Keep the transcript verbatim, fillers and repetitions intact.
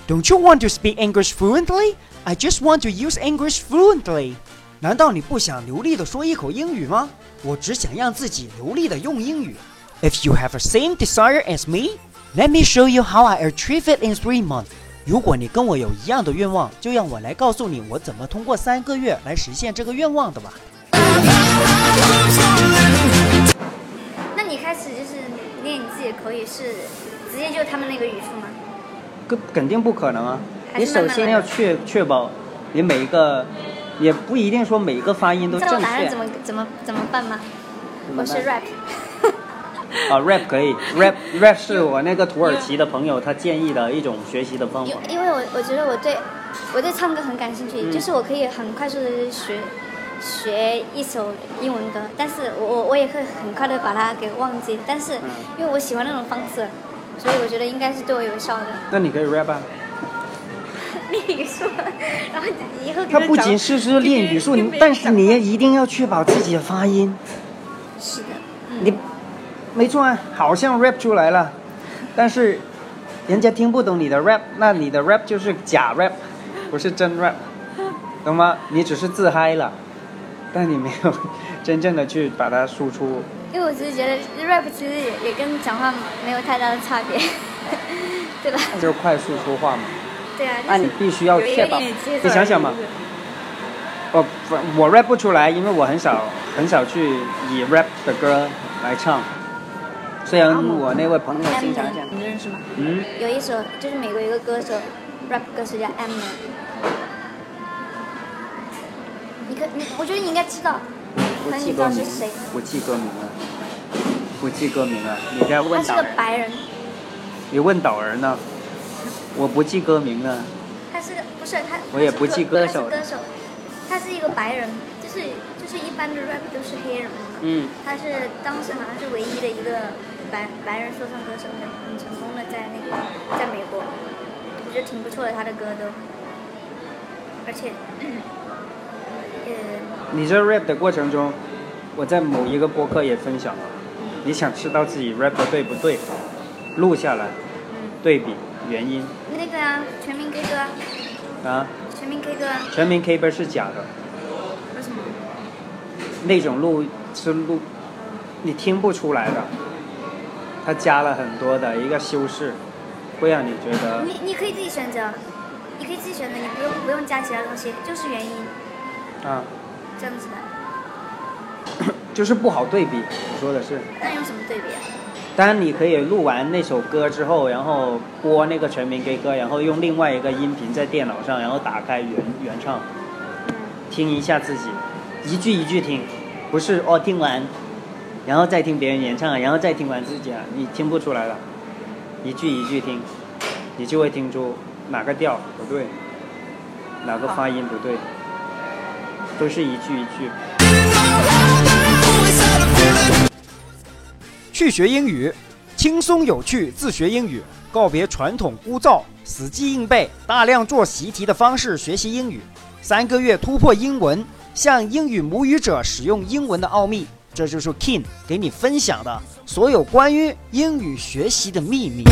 Don't you want to speak English fluently? I just want to use English fluently. 难道你不想流利地说一口英语吗？我只想让自己流利地用英语。If you have the same desire as me, let me show you how I achieve it in three months. 如果你跟我有一样的愿望，就让我来告诉你我怎么通过三个月来实现这个愿望的吧。 那你开始就是练你自己的口语是直接就他们那个语速吗？ 肯定不可能啊！你首先要确确保你每一个，也不一定说每一个发音都正确。 知道我答案怎么怎么怎么办吗？我是 rap。 啊 ，rap 可以 ，rap rap 是我那个土耳其的朋友他建议的一种学习的方法。 因为我我觉得我对我对唱歌很感兴趣， 嗯、 就是我可以很快速的学学一首英文歌，但是我我我也会很快的把它给忘记，但是因为我喜欢那种方式。所以我觉得应该是对我有效的。 那你可以 rap 啊。 练语速，然后以后。 它不仅是是练语速，但是你也一定要确保自己的发音。 是的。嗯、 你，没错啊，好像 rap 出来了，但是人家听不懂你的 rap， 那你的 rap 就是假 rap， 不是真 rap， 懂吗？你只是自嗨了，但你没有真正的去把它输出。 因为我只是觉得 rap 其实也也跟讲话没有太大的差别，对吧？ 那就是快速说话嘛。 对啊。 那、就是、你必须要确保。你想想嘛，我我 rap 不出来，因为我很少很少去以 rap 的歌来唱。虽然我那位朋友经常讲。 你认识吗？ 嗯。 有一首就是美国有一个歌手 ，rap 歌手叫 Eminem。你可你，我觉得你应该知道。 我记歌名，我记歌名了，我记歌名了。你在问导人。 他是个白人。 你问导人呢？我不记歌名了。 他是不是他？ 我也不记歌手。 他是歌手，他是一个白人，就是就是一般的 rap 都是黑人嘛。 嗯。 他是当时好像是唯一的一个白白人说唱歌手，很很成功的在那个在美国，我觉得挺不错的，他的歌都，而且。 你这 rap 的过程中，我在某一个播客也分享了。你想知道自己 rap 的对不对，录下来，对比原因。 那个啊，全民 K 歌啊。 啊？ 全民 K 歌啊。 全民 K 歌是假的。 为什么？ 那种录是录，你听不出来的。他加了很多的一个修饰，会让你觉得。 你你可以自己选择，你可以自己选择，你不用不用加其他东西，就是原因。 啊。 这样子的，就是不好对比。我说的是。 那用什么对比啊？ 当然，你可以录完那首歌之后，然后播那个全民 K 歌，然后用另外一个音频在电脑上，然后打开原原唱，听一下自己，一句一句听，不是哦听完，然后再听别人演唱，然后再听完自己啊，你听不出来了，一句一句听，你就会听出哪个调不对，哪个发音不对。都是一句一句。去学英语，轻松有趣自学英语，告别传统枯燥、死记硬背、大量做习题的方式学习英语，三个月突破英文，向英语母语者使用英文的奥秘。这就是 King 给你分享的所有关于英语学习的秘密。